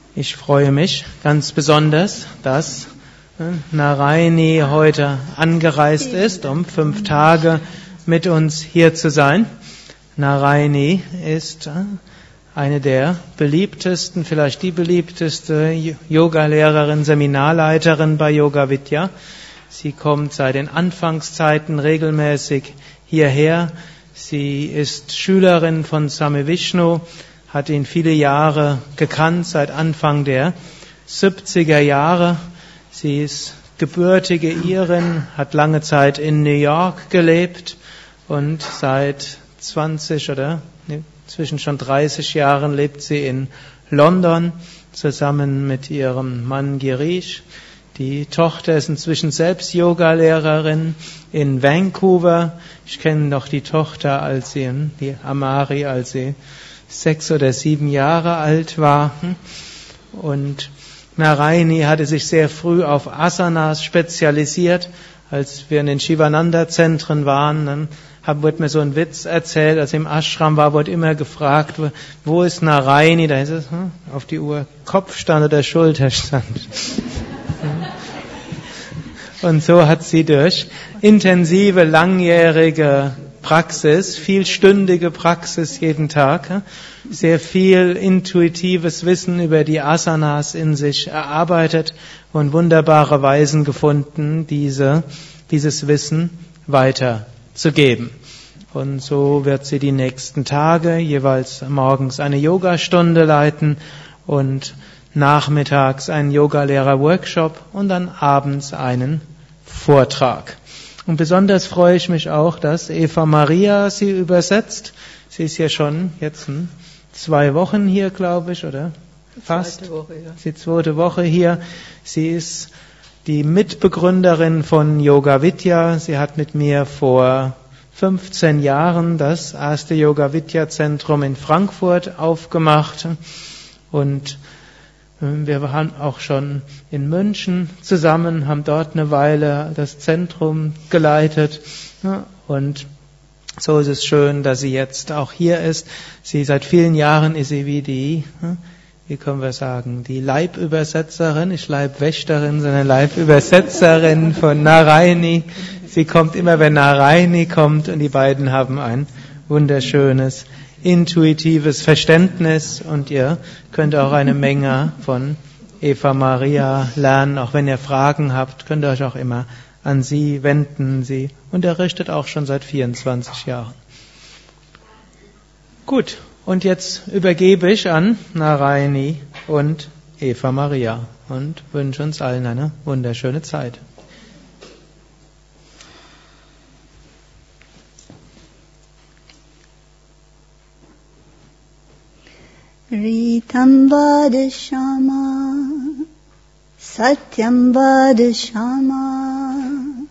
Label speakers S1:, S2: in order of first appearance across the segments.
S1: Ich freue mich ganz besonders, dass Narayani heute angereist ist, um 5 Tage mit uns hier zu sein. Narayani ist eine der beliebtesten, vielleicht die beliebteste Yogalehrerin, Seminarleiterin bei Yoga Vidya. Sie kommt seit den Anfangszeiten regelmäßig hierher. Sie ist Schülerin von Swami Vishnu, hat ihn viele Jahre gekannt, seit Anfang der 70er Jahre. Sie ist gebürtige Irin, hat lange Zeit in New York gelebt und seit 20 schon 30 Jahren lebt sie in London zusammen mit ihrem Mann Girish. Die Tochter ist inzwischen selbst Yogalehrerin in Vancouver. Ich kenne noch die Tochter, die Amari, als sie 6 oder 7 Jahre alt war. Und Narayani hatte sich sehr früh auf Asanas spezialisiert. Als wir in den Shivananda-Zentren waren, dann wurde mir so ein Witz erzählt, als ich im Ashram war, wurde immer gefragt, wo ist Narayani? Da ist es auf die Uhr Kopfstand oder Schulterstand. Und so hat sie durch intensive, langjährige Praxis, vielstündige Praxis jeden Tag, sehr viel intuitives Wissen über die Asanas in sich erarbeitet und wunderbare Weisen gefunden, dieses Wissen weiterzugeben. Und so wird sie die nächsten Tage jeweils morgens eine Yogastunde leiten und nachmittags einen Yogalehrer-Workshop und dann abends einen Vortrag. Und besonders freue ich mich auch, dass Eva Maria sie übersetzt. Sie ist ja schon jetzt 2 Wochen hier, glaube ich, oder? Fast.
S2: Zweite Woche, ja.
S1: Die 2. Woche hier. Sie ist die Mitbegründerin von Yoga Vidya. Sie hat mit mir vor 15 Jahren das erste Yoga Vidya Zentrum in Frankfurt aufgemacht. Und wir waren auch schon in München zusammen, haben dort eine Weile das Zentrum geleitet. Und so ist es schön, dass sie jetzt auch hier ist. Seit vielen Jahren ist sie wie können wir sagen, die Leibübersetzerin, nicht Leibwächterin, sondern Leibübersetzerin von Narayani. Sie kommt immer, wenn Narayani kommt, und die beiden haben ein wunderschönes intuitives Verständnis, und ihr könnt auch eine Menge von Eva Maria lernen. Auch wenn ihr Fragen habt, könnt ihr euch auch immer an sie wenden. Sie unterrichtet auch schon seit 24 Jahren. Gut, und jetzt übergebe ich an Narayani und Eva Maria und wünsche uns allen eine wunderschöne Zeit.
S3: Ritam vadashama, satyam vadashama,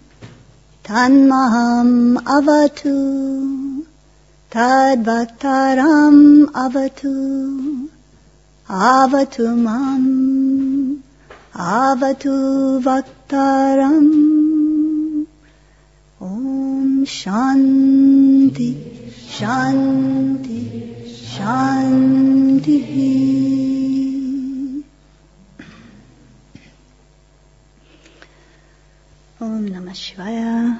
S3: tanmaham avatu, tadbhaktaram avatu, avatu mam, avatu bhaktaram. Om Shanti, Shanti, Shanti. Om Namah Shivaya.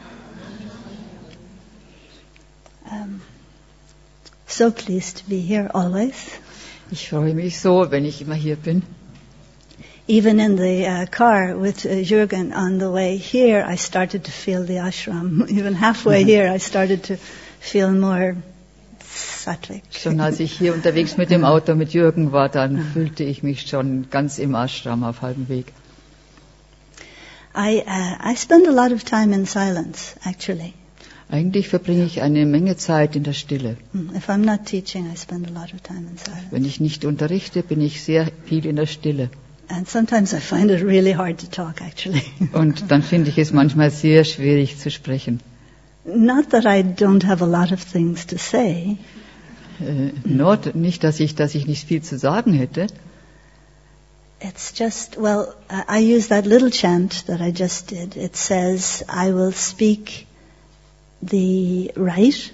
S3: So pleased to be here always.
S2: Ich freue mich so, wenn ich immer hier bin.
S3: Even in the car with Jürgen on the way here, I started to feel the ashram. Even halfway here, I started to feel more sattvic.
S2: Schon als ich hier unterwegs mit dem Auto mit Jürgen war, dann fühlte ich mich schon ganz im Ashram auf halbem Weg.
S3: I spend a lot of time in silence, actually.
S2: Eigentlich verbringe ich eine Menge Zeit in der Stille.
S3: If I'm not teaching, I spend a lot of time in silence.
S2: Wenn ich nicht unterrichte, bin ich sehr viel in der Stille.
S3: And sometimes I find it really hard to talk, actually.
S2: Und dann finde ich es manchmal sehr schwierig zu sprechen.
S3: Not that I don't have a lot of things to say.
S2: Nicht, dass ich nicht viel zu sagen hätte.
S3: It's just, I use that little chant that I just did. It says, I will speak the right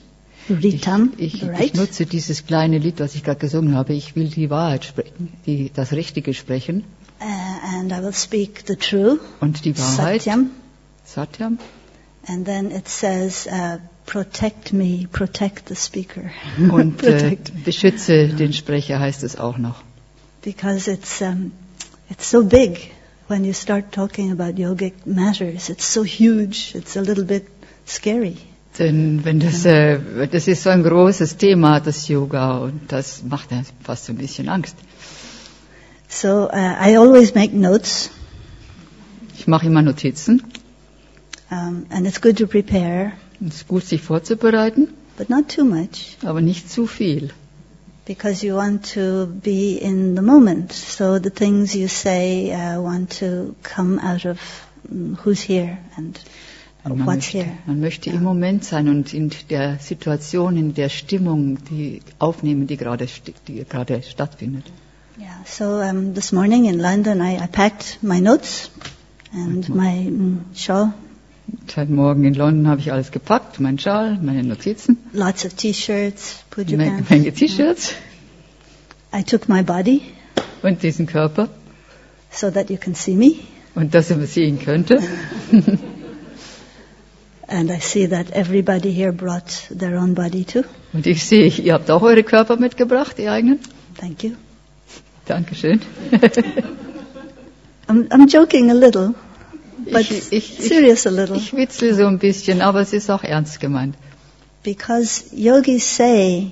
S3: Ritam,
S2: Ich
S3: right?
S2: nutze dieses kleine Lied, was ich gerade gesungen habe. Ich will die Wahrheit sprechen, das Richtige sprechen.
S3: And I will speak the true,
S2: Und die Wahrheit,
S3: Satyam.
S2: Satyam.
S3: And then it says, protect me, protect the speaker.
S2: Und
S3: Protect.
S2: beschütze den Sprecher heißt es auch noch.
S3: Because it's so big when you start talking about yogic matters. It's so huge. It's a little bit scary.
S2: Denn wenn das ist so ein großes Thema, das Yoga, und das macht ja fast so ein bisschen Angst.
S3: So I always make notes,
S2: Ich mache immer Notizen.
S3: and it's good to prepare,
S2: Es ist gut, sich vorzubereiten,
S3: but not too much,
S2: aber nicht zu viel.
S3: because you want to be in the moment. So the things you say want to come out of who's here and what's here.
S2: Man möchte im Moment sein und in der Situation, in der Stimmung, die aufnehmen, die gerade stattfindet.
S3: Yeah. So this morning in London, I packed my notes and my shawl,
S2: Heute Morgen in London habe ich alles gepackt, meinen Schal, meine Notizen,
S3: lots of T-shirts, puja
S2: eine
S3: pants.
S2: Menge T-Shirts
S3: I took my body
S2: und diesen Körper
S3: so that you can see me,
S2: und dass er sehen könnte.
S3: and I see that everybody here brought their own body too.
S2: Und ich sehe, ihr habt auch eure Körper mitgebracht, die eigenen.
S3: Thank you.
S2: Dankeschön.
S3: I'm joking a little, but serious a little,
S2: Ich witzel so ein bisschen, aber es ist auch ernst gemeint.
S3: because yogis say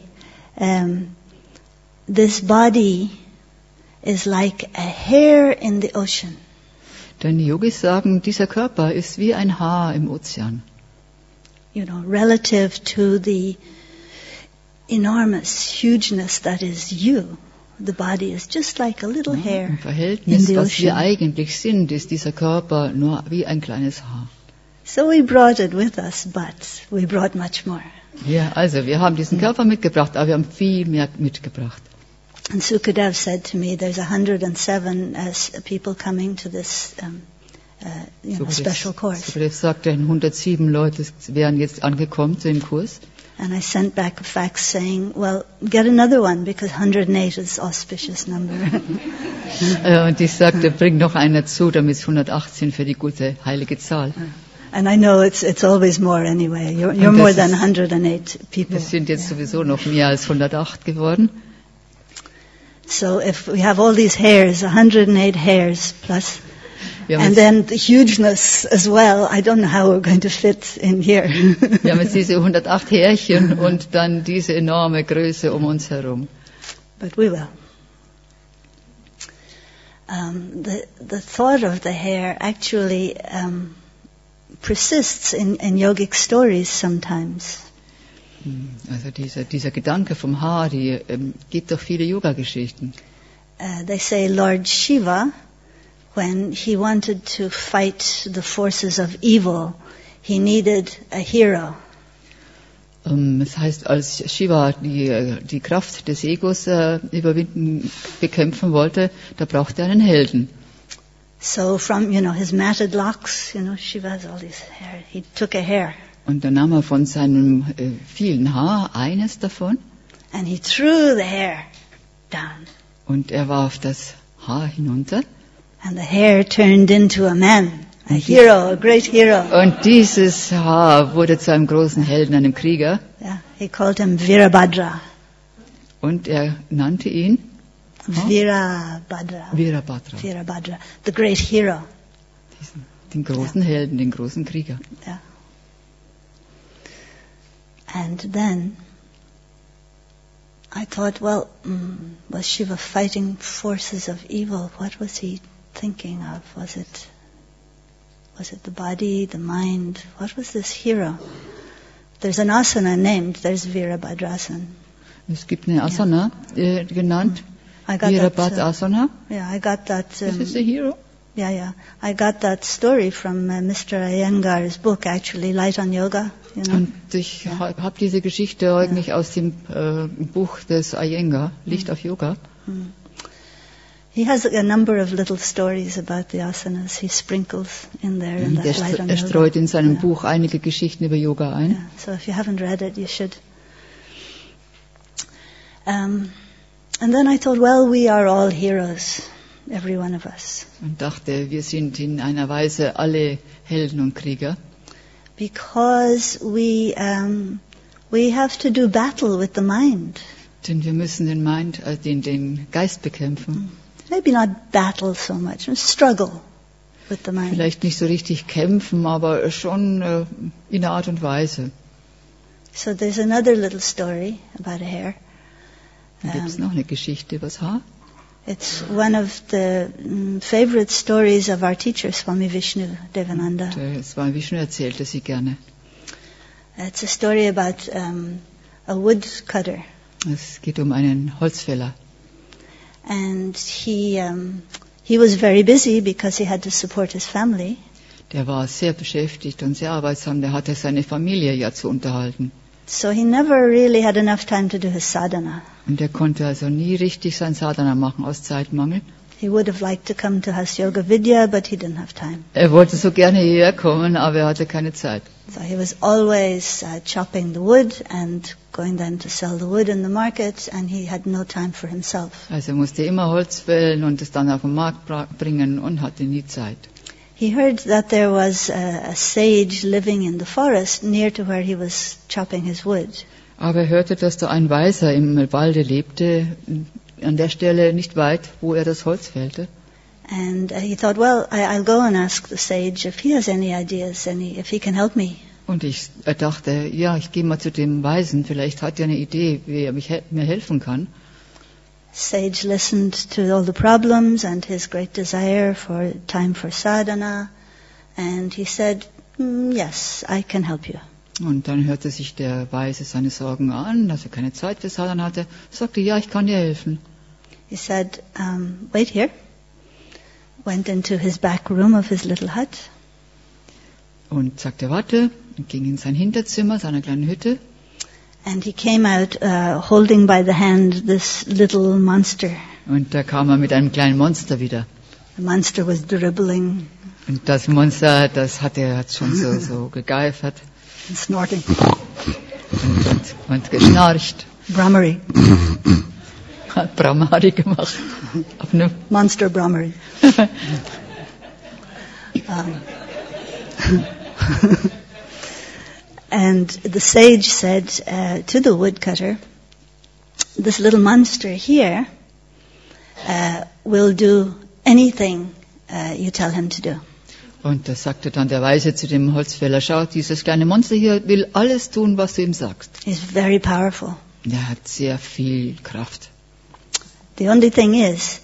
S3: this body is like a hair in the ocean.
S2: Denn die Yogis sagen, dieser Körper ist wie ein Haar im Ozean.
S3: You know, relative to the enormous hugeness that is you. The body is just like a little hair
S2: Im
S3: in
S2: Verhältnis,
S3: the
S2: was wir
S3: ocean.
S2: eigentlich sind, ist dieser Körper nur wie ein kleines Haar.
S3: So we brought it with us, but we brought much more.
S2: Ja, also wir haben diesen Körper mitgebracht, aber wir haben viel mehr mitgebracht.
S3: And Sukadev said to me, there's 107 people coming to this special course.
S2: Sukadev sagte, 107 Leute wären jetzt angekommen zu dem Kurs.
S3: And I sent back a fax saying, well, get another one, because 108 is auspicious number.
S2: Und ich sagte, bring noch einen dazu, damit es 118 für die gute heilige Zahl.
S3: And I know it's always more anyway. You're
S2: Und
S3: more
S2: das
S3: than
S2: ist-
S3: 108 people.
S2: Es sind jetzt sowieso noch mehr als 108 geworden.
S3: So if we have all these hairs, 108 hairs plus,
S2: Wir haben,
S3: and
S2: jetzt,
S3: then the hugeness as well, I don't know how we're going to fit in here.
S2: wir haben jetzt diese 108 Härchen und dann diese enorme Größe um uns herum.
S3: But we will. The thought of the hair actually persists in yogic stories sometimes.
S2: Also dieser Gedanke vom Haar, die gibt doch viele Yoga-Geschichten.
S3: They say Lord Shiva, when he wanted to fight the forces of evil, he needed a hero.
S2: Das heißt, als Shiva die Kraft des Egos bekämpfen wollte, da brauchte er einen Helden.
S3: So from, his matted locks, Shiva has all these hair. He took a hair
S2: Und dann nahm er von seinem vielen Haar eines davon
S3: and he threw the hair down.
S2: und er warf das Haar hinunter.
S3: And the hair turned into a man, a hero, a great hero.
S2: Und dieses Haar wurde zu einem großen Helden, einem Krieger.
S3: Yeah, he called him Virabhadra.
S2: Und er nannte ihn
S3: Virabhadra.
S2: Virabhadra,
S3: Virabhadra, the great hero.
S2: den großen Helden, den großen Krieger.
S3: Yeah. And then I thought, well, was Shiva fighting forces of evil? What was he thinking of? Was it the body, the mind? What was this hero? There's an asana named, there's Virabhadrasana.
S2: Es gibt eine Asana genannt,
S3: I got
S2: Virabhadrasana.
S3: I got that.
S2: This is the hero.
S3: Yeah. I got that story from Mr. Iyengar's book, actually, Light on Yoga.
S2: Und ich habe diese Geschichte eigentlich aus dem Buch des Iyengar, Licht auf Yoga.
S3: He has a number of little stories about the asanas. He sprinkles in there in that Light on
S2: Er
S3: Yoga.
S2: streut in seinem Buch einige Geschichten über Yoga ein.
S3: Yeah. So if you haven't read it, you should. And then I thought, well, we are all heroes, every one of us.
S2: Und dachte, wir sind in einer Weise alle Helden und Krieger,
S3: Because we have to do battle with the mind.
S2: denn wir müssen den Geist bekämpfen.
S3: Maybe not battle so much, struggle with the mind.
S2: Vielleicht nicht so richtig kämpfen, aber schon in einer Art und Weise.
S3: So there's another little story about a hare.
S2: Dann gibt es noch eine Geschichte über das Haar.
S3: It's one of the favorite stories of our teacher, Swami Vishnu Devananda.
S2: Swami Vishnu erzählte sie gerne.
S3: It's a story about a woodcutter.
S2: Es geht um einen Holzfäller.
S3: And he was very busy because he had to support his family.
S2: Der war sehr beschäftigt und sehr arbeitsam. Der hatte seine Familie ja zu unterhalten.
S3: So he never really had enough time to do his sadhana.
S2: Und er konnte also nie richtig sein Sadhana machen aus Zeitmangel.
S3: He would have liked to come to Has Yoga Vidya, but he didn't have time.
S2: Er wollte so gerne hierher kommen, aber er hatte keine Zeit.
S3: So he was always chopping the wood and going then to sell the wood in the market, and he had no time for himself.
S2: Also er musste immer Holz fällen und es dann auf den Markt bringen und hatte nie Zeit.
S3: He heard that there was a sage living in the forest near to where he was chopping his wood.
S2: Aber er hörte, dass da ein Weiser im Walde lebte, an der Stelle nicht weit, wo er das Holz fällte.
S3: And he thought, well, I'll go and ask the sage if he has any ideas, if he can help me.
S2: Und er dachte, ja, ich gehe mal zu dem Weisen, vielleicht hat er eine Idee, wie er mir helfen kann.
S3: Sage listened to all the problems and his great desire for time for sadhana, and he said, yes, I can help you.
S2: Und dann hörte sich der Weise seine Sorgen an, dass er keine Zeit für Sadhana hatte. Er sagte, ja, ich kann dir helfen.
S3: He said, wait here. Went into his back room of his little hut.
S2: Und sagte, warte, und ging in sein Hinterzimmer, seiner kleinen Hütte.
S3: And he came out holding by the hand this little monster.
S2: Und da kam er mit einem kleinen Monster wieder.
S3: The monster was dribbling.
S2: Und das Monster, das hat schon so gegeifert.
S3: And snorting.
S2: Und geschnarcht.
S3: Brahmari.
S2: Hat Brahmari gemacht. Auf eine
S3: Monster Brahmari. And the sage said to the woodcutter, this little monster here will do anything you tell him to do.
S2: Und da sagte dann der Weise zu dem Holzfäller, schau, dieses kleine Monster hier will alles tun, was du ihm sagst.
S3: He's very powerful.
S2: Er hat sehr viel Kraft.
S3: The only thing is,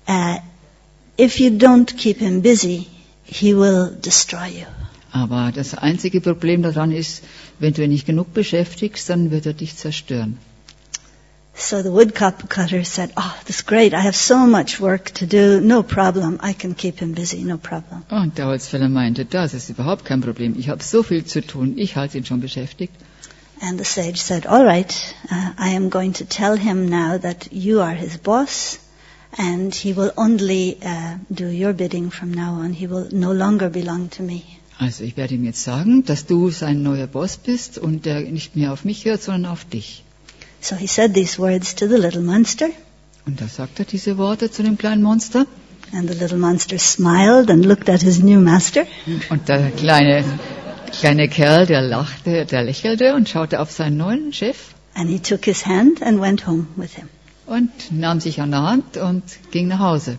S3: if you don't keep him busy, he will destroy you.
S2: Aber das einzige Problem daran ist, wenn du ihn nicht genug beschäftigst, dann wird er dich zerstören.
S3: So the woodcutter said, oh, that's great, I have so much work to do, no problem, I can keep him busy, no problem.
S2: Und der Holzfäller meinte, das ist überhaupt kein Problem, ich habe so viel zu tun, ich halte ihn schon beschäftigt.
S3: And the sage said, all right, I am going to tell him now that you are his boss, and he will only do your bidding from now on, he will no longer belong to me.
S2: Also ich werde ihm jetzt sagen, dass du sein neuer Boss bist und der nicht mehr auf mich hört, sondern auf dich.
S3: So he said these words to the little monster.
S2: Und da sagt er diese Worte zu dem kleinen Monster.
S3: And the little monster smiled and looked at his new master.
S2: Und der kleine Kerl, der lachte, der lächelte und schaute auf seinen neuen Chef.
S3: And he took his hand and went home with him.
S2: Und nahm sich an der Hand und ging nach Hause.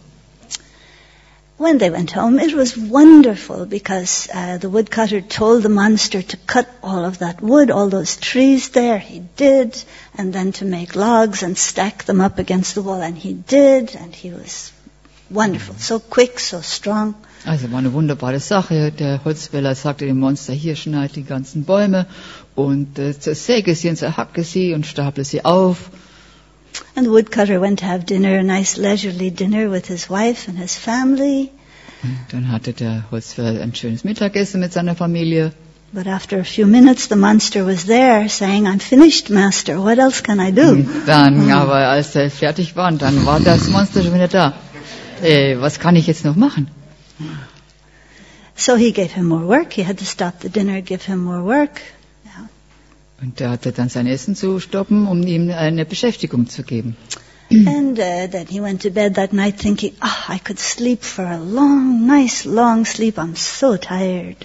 S3: When they went home, it was wonderful because the woodcutter told the monster to cut all of that wood, all those trees there. He did, and then to make logs and stack them up against the wall, and he did, and he was wonderful, so quick, so strong.
S2: Also war eine wunderbare Sache. Der Holzfäller sagte dem Monster, hier schneid die ganzen Bäume und zersäge sie und zerhacke sie und staple sie auf.
S3: And the woodcutter went to have dinner, a nice leisurely dinner with his wife and his family.
S2: Und dann hatte der Holzfäller ein schönes Mittagessen mit seiner Familie.
S3: But after a few minutes, the monster was there, saying, "I'm finished, master. What else can I do?"
S2: Und dann, aber als er fertig war, dann war das Monster schon wieder da. Was kann ich jetzt noch machen?
S3: So he gave him more work. He had to stop the dinner, give him more work.
S2: Und der hatte dann sein Essen zu stoppen, um ihm eine Beschäftigung zu geben.
S3: And then he went to bed that night thinking, I could sleep for a long, nice, long sleep. I'm so tired.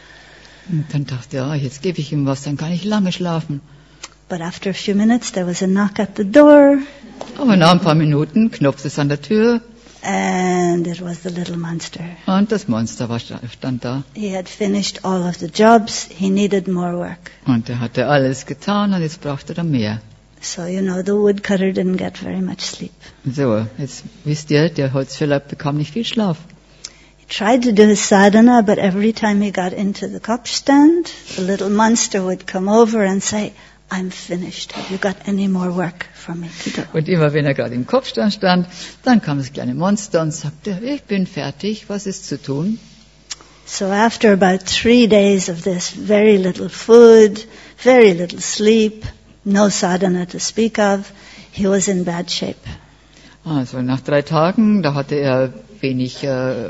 S2: Und dann dachte er, jetzt gebe ich ihm was, dann kann ich lange schlafen.
S3: But after a few minutes, there was a knock at the door.
S2: Aber nach ein paar Minuten klopfte es an der Tür.
S3: And it was the little monster.
S2: Und das Monster stand da.
S3: He had finished all of the jobs. He needed more work.
S2: Und er hatte alles getan und jetzt brauchte er mehr.
S3: So, the woodcutter didn't get very much sleep.
S2: So, jetzt wisst ihr, der Holzfäller bekam nicht viel Schlaf.
S3: He tried to do his sadhana, but every time he got into the cup stand, the little monster would come over and say, I'm finished. Have you got any more work for me to do?
S2: Und immer wenn er gerade im Kopfstand stand, dann kam das kleine Monster und sagte, ich bin fertig, was ist zu tun?
S3: So after about 3 days of this, very little food, very little sleep, no sadhana to speak of, he was in bad shape.
S2: Also nach 3 Tagen, da hatte er wenig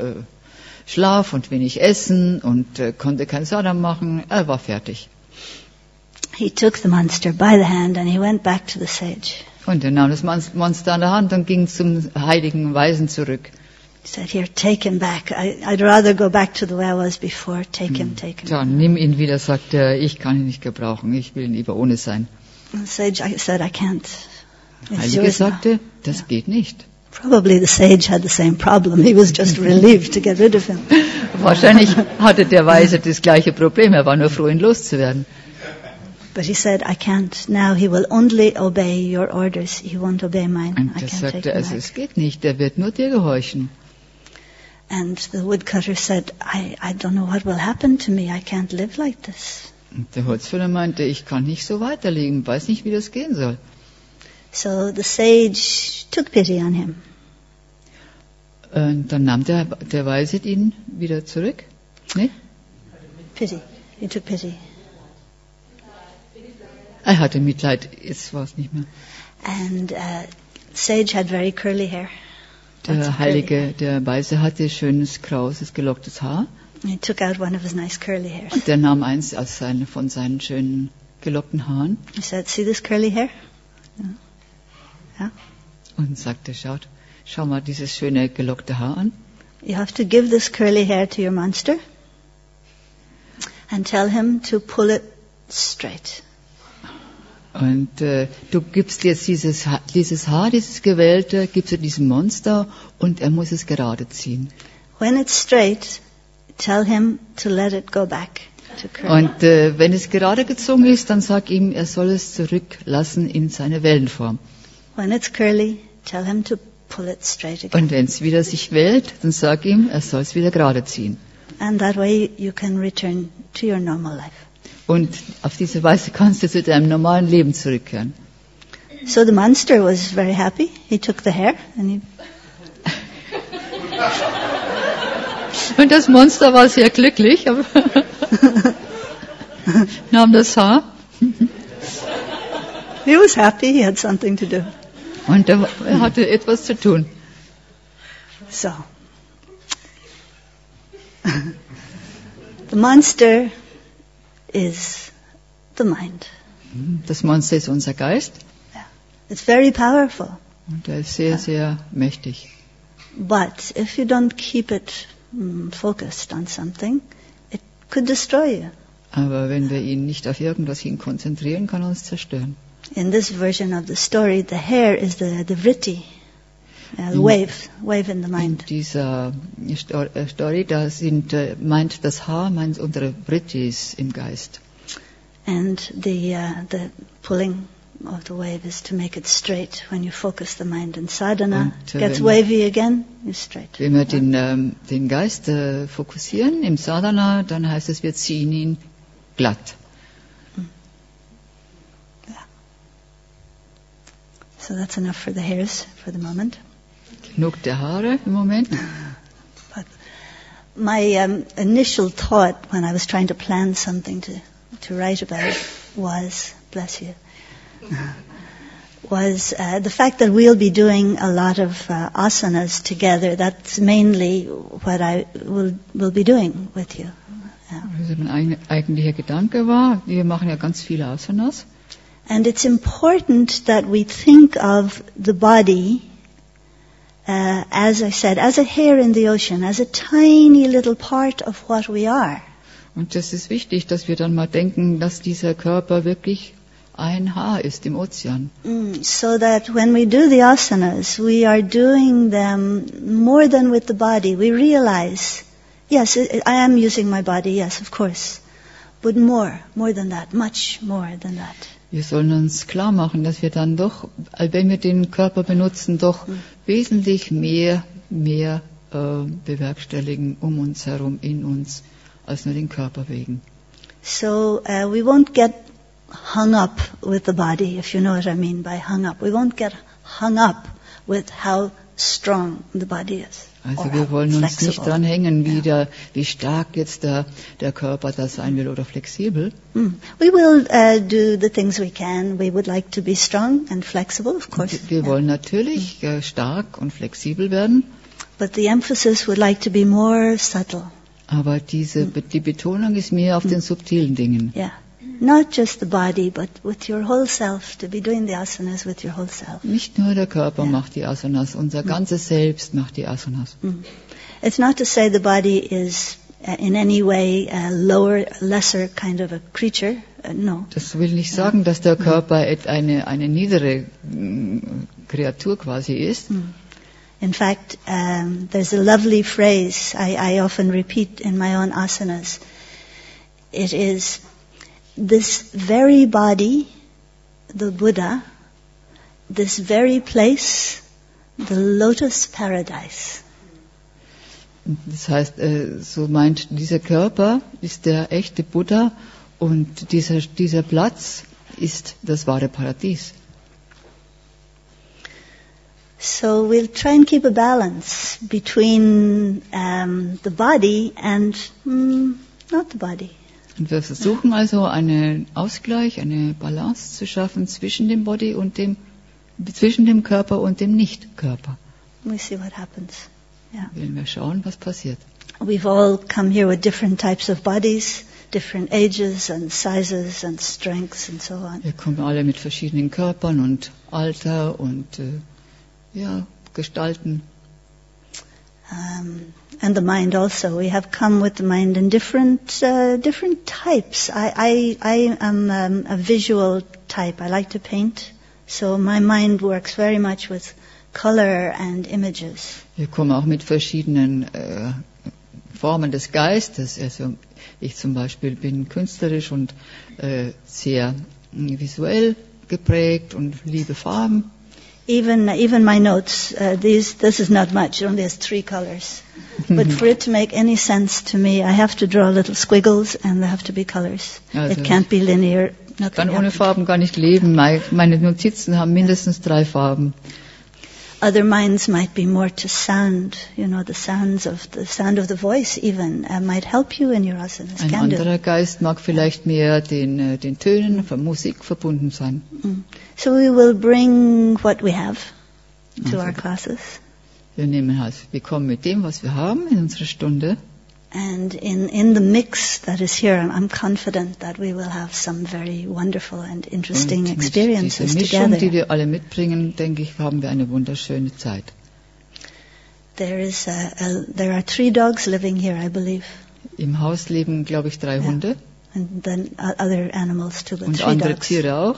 S2: Schlaf und wenig Essen und konnte kein Sadhana machen. Er war fertig.
S3: He took the monster by the hand and he went back to the sage.
S2: Und er nahm das Monster an der Hand und ging zum heiligen Weisen zurück.
S3: He said, here, take him back. I'd rather go back to the way I was before. Take him, take him.
S2: Ja, nimm ihn wieder, sagte er, ich kann ihn nicht gebrauchen, ich will lieber ohne sein.
S3: And the sage said, I can't.
S2: Der
S3: It's
S2: Heilige
S3: yours now.
S2: sagte, das geht nicht.
S3: Probably the sage had the same problem. He was just relieved to get rid of him.
S2: Wahrscheinlich hatte der Weise das gleiche Problem, er war nur froh, ihn loszuwerden.
S3: But he said, I can't. Now he will only obey your orders. He won't obey mine.
S2: Und
S3: I
S2: er
S3: can't take
S2: sagte,
S3: him
S2: also
S3: back.
S2: es geht nicht, er wird nur dir gehorchen.
S3: And the woodcutter said, I don't know what will happen to me. I can't live like this.
S2: Und der Holzfäller meinte, ich kann nicht so weiterleben, weiß nicht, wie das gehen soll.
S3: So the sage took pity on him.
S2: Und dann nahm der Weise ihn wieder zurück. Nee?
S3: Pity. He took pity.
S2: Er hatte Mitleid, jetzt war es nicht mehr.
S3: And sage had very curly hair.
S2: Der Heilige, der Weise hatte schönes, krauses, gelocktes Haar.
S3: He took out one of his nice curly hairs.
S2: Und der nahm eins von seinen schönen, gelockten Haaren
S3: He said, see this curly hair? Yeah.
S2: und sagte, schau mal dieses schöne, gelockte Haar an.
S3: You have to give this curly hair to your monster and tell him to pull it straight.
S2: Und du gibst jetzt dieses Haar, dieses Gewählte, gibst du diesem Monster und er muss es gerade ziehen.
S3: When it's straight, tell him to let it go back to curly.
S2: Und wenn es gerade gezogen ist, dann sag ihm, er soll es zurücklassen in seine Wellenform.
S3: When it's curly, tell him to pull it straight again.
S2: Und wenn es wieder sich wählt, dann sag ihm, er soll es wieder gerade ziehen.
S3: And that way you can return to your normal life.
S2: Und auf diese Weise kannst du zu deinem normalen Leben zurückkehren.
S3: So the monster was very happy. He took the hair and he
S2: Und das Monster war sehr glücklich, aber nahm das Haar
S3: he was happy. He had something to do.
S2: und er hatte etwas zu tun.
S3: So the monster is the mind.
S2: Das Monster ist unser Geist
S3: It's very powerful.
S2: und er ist sehr, sehr mächtig.
S3: But if you don't keep it focused on something, it could destroy you.
S2: Aber wenn wir ihn nicht auf irgendwas hin konzentrieren, kann er uns zerstören.
S3: In this version of the story, the hair is the vritti, the wave in the
S2: In
S3: mind.
S2: dieser Story, da meint das Haar, meint unsere Vrittis im Geist.
S3: And the pulling of the wave is to make it straight. When you focus the mind in sadhana,
S2: Und,
S3: gets wavy again, you're straight.
S2: Wenn wir den Geist fokussieren im Sadhana, dann heißt es, wir ziehen ihn glatt.
S3: So that's enough for the hairs for the moment.
S2: Genug der Haare im Moment.
S3: But my initial thought when I was trying to plan something to write about was, bless you, was the fact that we'll be doing a lot of asanas together. That's mainly what I will be doing with you.
S2: Also mein eigentlicher Gedanke war, wir machen ja ganz viele Asanas.
S3: And it's important that we think of the body, as I said, as a hair in the ocean, as a tiny little part of what we are.
S2: Und das ist wichtig, dass wir dann mal denken, dass dieser Körper wirklich ein Haar ist im Ozean.
S3: So that when we do the asanas, we are doing them more than with the body. We realize, yes, I am using my body, yes, of course. But more than that, much more than that.
S2: Wir sollen uns klar machen, dass wir dann doch, wenn wir den Körper benutzen, doch wesentlich mehr bewerkstelligen um uns herum, in uns, als nur den Körper wegen.
S3: So we won't get hung up with the body, if you know what I mean by hung up. We won't get hung up with how strong the body is.
S2: Also wir wollen uns nicht dran hängen, wie stark jetzt der Körper da sein will oder flexibel.
S3: We will do the things we can. We would like to be strong and flexible, of course.
S2: Wir wollen natürlich stark und flexibel werden.
S3: But the emphasis would like to be more subtle.
S2: Aber die Betonung ist mehr auf den subtilen Dingen.
S3: Yeah. Not just the body, but with your whole self, to be doing the asanas with your whole self.
S2: Nicht nur der Körper macht die Asanas, unser ganzes Selbst macht die Asanas.
S3: It's not to say the body is in any way a lesser kind of a creature. No.
S2: Das will nicht sagen, dass der Körper eine niedere Kreatur quasi ist.
S3: In fact, there's a lovely phrase I often repeat in my own asanas. It is, this very body, the Buddha, this very place, the lotus paradise.
S2: Das heißt, so meint, dieser Körper ist der echte Buddha und dieser Platz ist das wahre Paradies.
S3: So we'll try and keep a balance between the body and not the body.
S2: Und wir versuchen also einen Ausgleich, eine Balance zu schaffen zwischen dem Body und zwischen dem Körper und dem Nicht-Körper.
S3: We see what happens. Yeah.
S2: Wollen wir schauen, was passiert.
S3: We've all come here with different types of bodies, different ages and sizes and strengths and so on.
S2: Wir kommen alle mit verschiedenen Körpern und Alter und Gestalten.
S3: And the mind also. We have come with the mind in different types. I am a visual type. I like to paint. So my mind works very much with color and images.
S2: Wir kommen auch mit verschiedenen Formen des Geistes. Also ich zum Beispiel bin künstlerisch und sehr visuell geprägt und liebe Farben.
S3: Even my notes, this is not much, it only has 3 colors. But for it to make any sense to me, I have to draw little squiggles and there have to be colors.
S2: Also
S3: it can't be linear.
S2: Ich kann ohne Farben gar nicht leben. Meine Notizen haben mindestens 3 Farben.
S3: Other minds might be more to sound, the sound of the voice even might help you in your asanas.
S2: Ein anderer Geist mag vielleicht mehr den Tönen von Musik verbunden sein.
S3: So we will bring what we have to our classes.
S2: Wir kommen mit dem, was wir haben in unsere Stunde.
S3: And in the mix that is here, I'm confident that we will have some very wonderful and interesting experiences
S2: diese Mischung,
S3: together.
S2: Die wir alle mitbringen, denke ich, haben wir eine wunderschöne Zeit.
S3: There are 3 dogs living here, I believe.
S2: Im Haus leben, glaube ich, 3 Hunde.
S3: And then other animals too, but
S2: Und
S3: 3
S2: andere
S3: dogs.
S2: Tiere auch.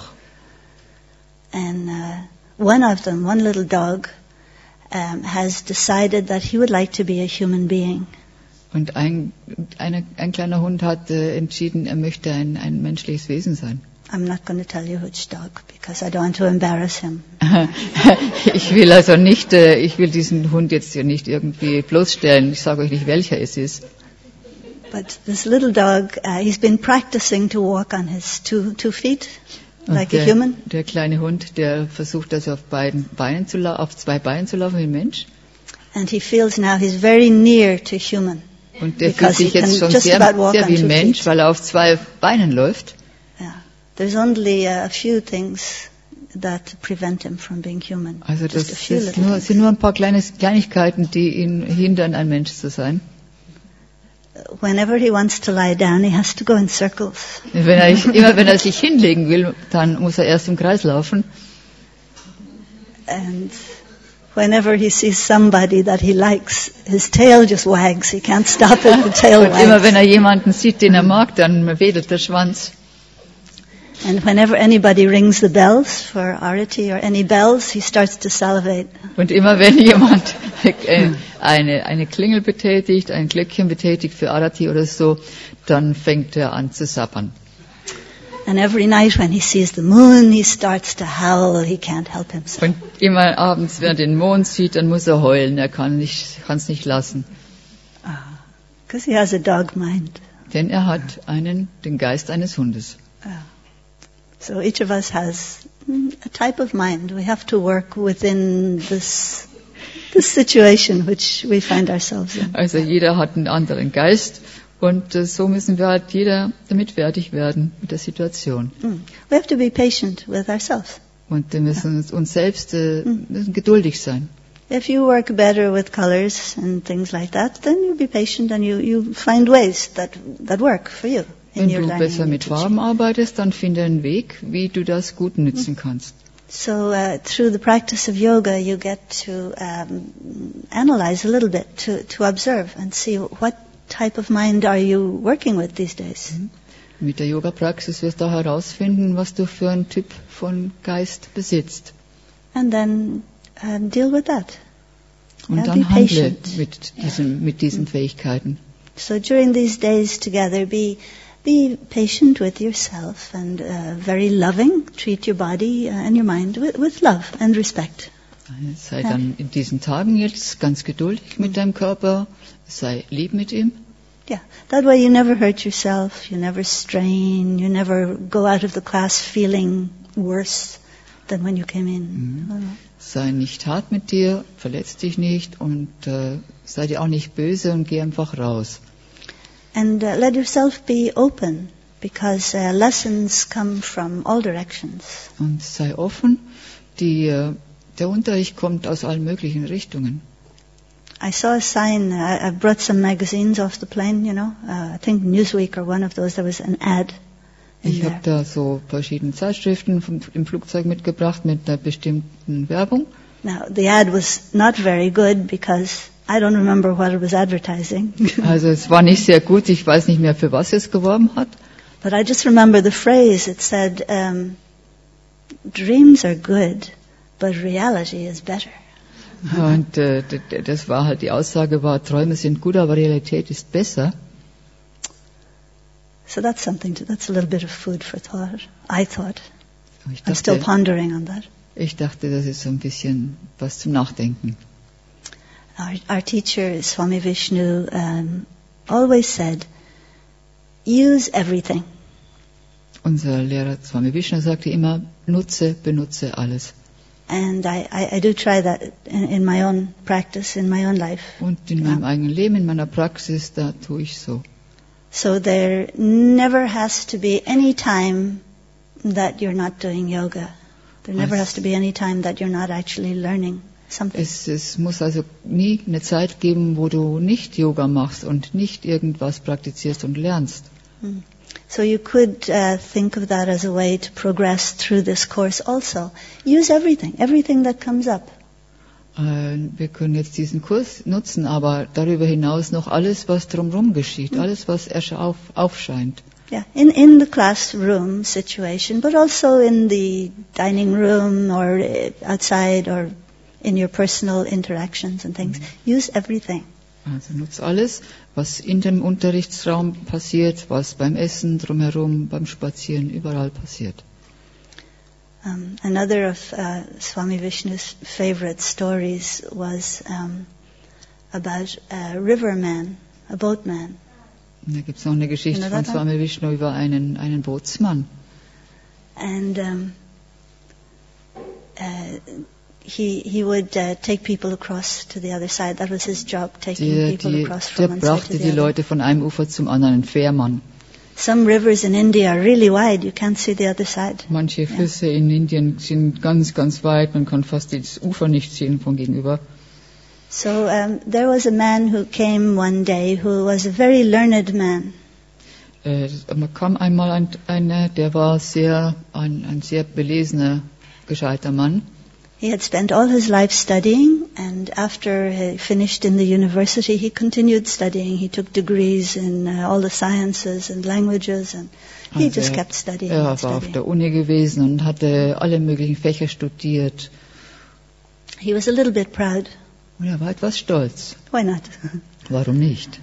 S3: And one of them, one little dog, has decided that he would like to be a human being.
S2: Und ein kleiner Hund hat entschieden, er möchte ein menschliches Wesen sein.
S3: I'm not going to tell you which dog, because I don't want to embarrass him.
S2: Ich will diesen Hund jetzt hier nicht irgendwie bloßstellen. Ich sage euch nicht, welcher es ist.
S3: But this little dog, he's been practicing to walk on his two feet, like a human.
S2: Der kleine Hund, der versucht also auf 2 Beinen zu laufen wie ein Mensch.
S3: And he feels now he's very near to human.
S2: Und der fühlt sich jetzt schon sehr wie ein Mensch, weil er auf 2 Beinen läuft.
S3: Yeah. There's only a few things that prevent him from being human.
S2: Also das sind nur ein paar Kleinigkeiten, die ihn hindern, ein Mensch zu sein.
S3: whenever he wants to lie down, he has to go in circles.
S2: Immer wenn er sich hinlegen will, dann muss er erst im Kreis laufen.
S3: And whenever he sees somebody that he likes, his tail just wags. He can't stop it, the tail
S2: Und immer wenn
S3: wags.
S2: er jemanden sieht, den er mag, dann wedelt der Schwanz.
S3: And whenever anybody rings the bells for Arati or any bells, he starts to salivate.
S2: Und immer wenn jemand eine Klingel betätigt, ein Glöckchen betätigt für Arati oder so, dann fängt er an zu sabbern.
S3: And every night when he sees the moon, he starts to howl. He can't help himself.
S2: Und immer abends, wenn er den Mond sieht, dann muss er heulen. Er kann es nicht lassen.
S3: Because he has a dog mind.
S2: Denn er hat den Geist eines Hundes.
S3: So each of us has a type of mind. We have to work within this situation which we find ourselves in.
S2: Also jeder hat einen anderen Geist. Und so müssen wir halt jeder damit fertig werden mit der Situation.
S3: We have to be patient with ourselves.
S2: Und wir müssen uns selbst müssen geduldig sein.
S3: If you work better with colors and things like that, then you be patient and you find ways that work for you in
S2: Wenn
S3: your
S2: du
S3: learning.
S2: besser
S3: and
S2: mit
S3: teaching.
S2: Farben arbeitest, dann finde einen Weg, wie du das gut nützen kannst.
S3: So through the practice of yoga, you get to analyze a little bit, to observe and see what type of mind are you working with these days.
S2: Mit der Yoga-Praxis wirst du herausfinden, was du für einen Typ von Geist besitzt.
S3: And then deal with that.
S2: Und
S3: Ja,
S2: dann
S3: be
S2: handle
S3: patient.
S2: mit diesen Fähigkeiten.
S3: So during these days together, be patient with yourself and very loving. Treat your body and your mind with love and respect.
S2: Sei dann in diesen Tagen jetzt ganz geduldig mit deinem Körper, sei lieb mit ihm.
S3: Yeah, that way you never hurt yourself, you never strain, you never go out of the class feeling worse than when you came in.
S2: Sei nicht hart mit dir, verletz dich nicht und sei dir auch nicht böse und geh einfach raus.
S3: And let yourself be open, because lessons come from all directions.
S2: Und sei offen, der Unterricht kommt aus allen möglichen Richtungen.
S3: I saw a sign, I brought some magazines off the plane, I think Newsweek or one of those, there was an ad in
S2: Ich
S3: there.
S2: habe da so verschiedene Zeitschriften im Flugzeug mitgebracht mit einer bestimmten Werbung.
S3: Now, the ad was not very good because I don't remember what it was advertising.
S2: Also es war nicht sehr gut, ich weiß nicht mehr, für was es geworben hat.
S3: But I just remember the phrase, it said, dreams are good, but reality is better.
S2: Und das war halt, die Aussage war, Träume sind gut, aber Realität ist besser.
S3: So that's that's a little bit of food for thought, I thought.
S2: Ich
S3: I'm still
S2: dachte,
S3: pondering on that.
S2: das ist so ein bisschen was zum Nachdenken.
S3: Our teacher, Swami Vishnu, always said, use everything.
S2: Unser Lehrer Swami Vishnu sagte immer, benutze alles.
S3: And I do try that in my own practice, in my own life.
S2: Und in meinem eigenen Leben, in meiner Praxis, da tue ich so.
S3: So there never has to be any time that you're not doing yoga. There never has to be any time that you're not actually learning something.
S2: Es muss also nie eine Zeit geben, wo du nicht Yoga machst und nicht irgendwas praktizierst und lernst.
S3: So you could think of that as a way to progress through this course also. Use everything that comes up.
S2: Wir können jetzt diesen Kurs nutzen, aber darüber hinaus noch alles, was drumherum geschieht, alles, was aufscheint.
S3: Yeah, in the classroom situation, but also in the dining room or outside or in your personal interactions and things. Use everything.
S2: Also nutz alles, was in dem Unterrichtsraum passiert, was beim Essen, drumherum, beim Spazieren, überall passiert.
S3: Another of Swami Vishnu's favorite stories was about a riverman, a boatman.
S2: Und da gibt es noch eine Geschichte von Swami Vishnu über einen Bootsmann.
S3: And he would take people across to the other side. That was his job, taking people across
S2: Der
S3: from one side to
S2: brachte
S3: the
S2: die
S3: other.
S2: Leute von einem Ufer zum anderen, ein Fährmann.
S3: Some rivers in India are really wide. You can't see the other side.
S2: Manche Flüsse in Indien sind ganz, ganz weit, man kann fast das Ufer nicht sehen von gegenüber.
S3: So there was a man who came one day who was a very learned man.
S2: Man kam einmal einer, der war ein sehr belesener, gescheiter Mann.
S3: He had spent all his life studying, and after he finished in the university, he continued studying. He took degrees in all the sciences and languages, and he just kept studying.
S2: Er war auf der Uni gewesen und hatte alle möglichen Fächer studiert.
S3: He was a little bit proud.
S2: Und er war etwas stolz.
S3: Why not?
S2: Warum nicht?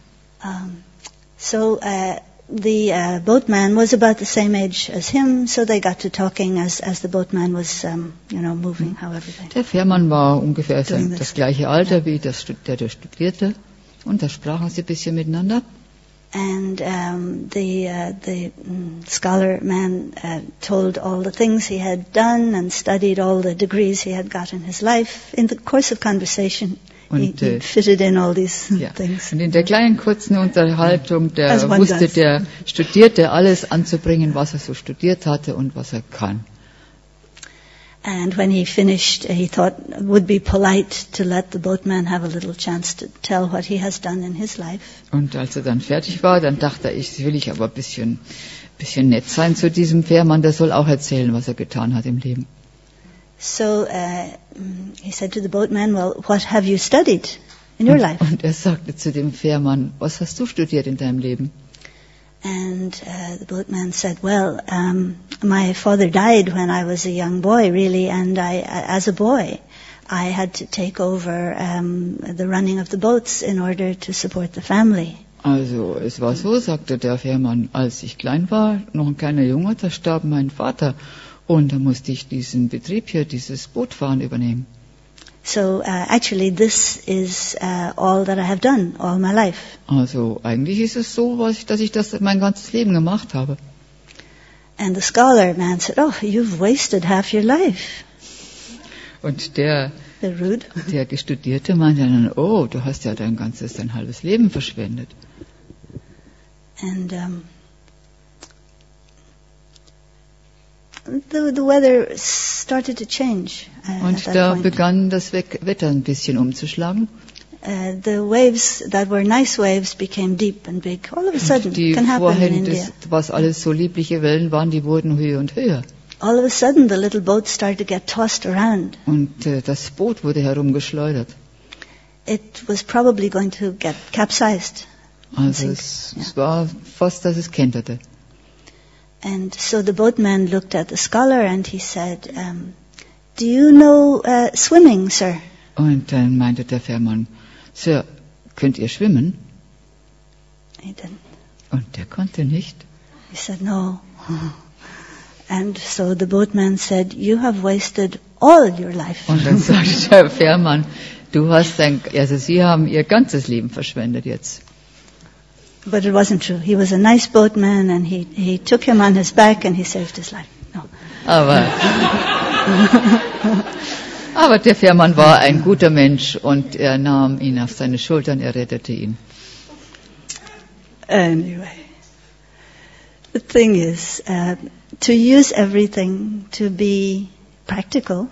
S3: So the boatman was about the same age as him, so they got to talking as the boatman was, moving, however they.
S2: Der Fährmann war ungefähr das gleiche Alter wie der studierte, und da sprachen sie ein bisschen miteinander.
S3: And the scholar man told all the things he had done and studied all the degrees he had got in his life. In the course of conversation, he fitted in all these things.
S2: Und in der kleinen kurzen Unterhaltung, der Studierte alles anzubringen, was er so studiert hatte und was er kann.
S3: And when he finished, he thought it would be polite to let the boatman have a little chance to tell what he has done in his life.
S2: Und als er dann fertig war, dann dachte ich, will ich aber ein bisschen nett sein zu diesem Fährmann, der soll auch erzählen, was er getan hat im Leben.
S3: So he said to the boatman, well, what have you studied in your life?
S2: Und er sagte zu dem Fährmann, was hast du studiert in deinem Leben?
S3: And the boatman said, well, my father died when I was a young boy, really, and as a boy, I had to take over the running of the boats in order to support the family.
S2: Also, es war so, sagte der Fährmann, als ich klein war, noch ein kleiner Junge, da starb mein Vater, und da musste ich diesen Betrieb hier, dieses Bootfahren übernehmen.
S3: So actually this is all that I have done all my life.
S2: Also eigentlich ist es so, dass ich das mein ganzes Leben gemacht habe.
S3: And the scholar man said, "Oh, you've wasted half your life."
S2: Und der Studierte meinte dann, oh, du hast ja dein halbes Leben verschwendet.
S3: And the weather started to change.
S2: Und da begann das Wetter ein bisschen umzuschlagen.
S3: The waves that were nice waves became deep and big. All of a sudden, can happen in India.
S2: Was alles so liebliche Wellen waren, die wurden höher und höher.
S3: All of a sudden, the little boat started to get tossed around.
S2: Und das Boot wurde herumgeschleudert.
S3: It was probably going to get capsized.
S2: Also es war fast, dass es kenterte.
S3: And so the boatman looked at the scholar and he said, "Do you know swimming, sir?"
S2: Und dann meinte der Fährmann, Sir, könnt ihr schwimmen?
S3: He didn't.
S2: Und der konnte nicht.
S3: He said, "No." And so the boatman said, "You have wasted all your life."
S2: Und dann sagte der Fährmann, Sie haben Ihr ganzes Leben verschwendet jetzt.
S3: But it wasn't true. He was a nice boatman and he took him on his back and he saved his life. No.
S2: Aber der Fährmann war ein guter Mensch und er nahm ihn auf seine Schultern, er rettete ihn.
S3: Anyway, the thing is, to use everything to be practical.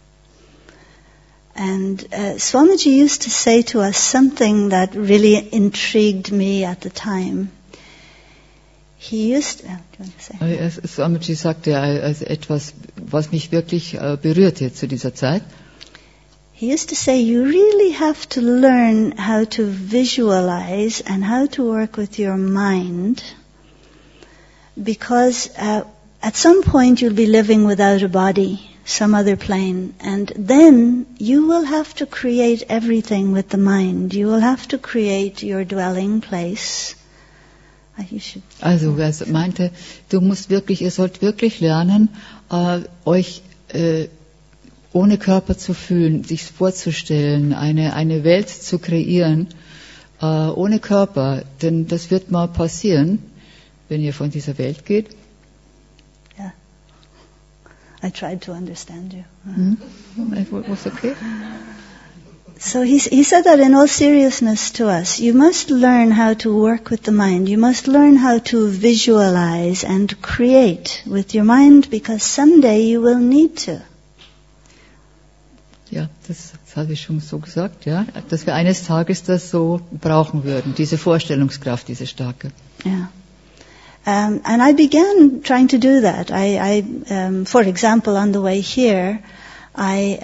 S3: And Swamiji used to say to us something that really intrigued me at the time. He used do you want to say?
S2: Swamiji sagte also etwas, was mich wirklich berührte zu dieser Zeit.
S3: He used to say, you really have to learn how to visualize and how to work with your mind, because at some point you'll be living without a body, some other plane, and then you will have to create everything with the mind. You will have to create your dwelling place.
S2: Also er meinte, ihr sollt wirklich lernen, euch ohne Körper zu fühlen, sich vorzustellen, eine Welt zu kreieren, ohne Körper, denn das wird mal passieren, wenn ihr von dieser Welt geht.
S3: Yeah. I tried to understand you.
S2: It was okay.
S3: So he said that in all seriousness to us. You must learn how to work with the mind. You must learn how to visualize and create with your mind, because someday you will need to.
S2: Ja, das habe ich schon so gesagt, ja, dass wir eines Tages das so brauchen würden, diese Vorstellungskraft, diese starke.
S3: Yeah. And I began trying to do that. For example, on the way here, I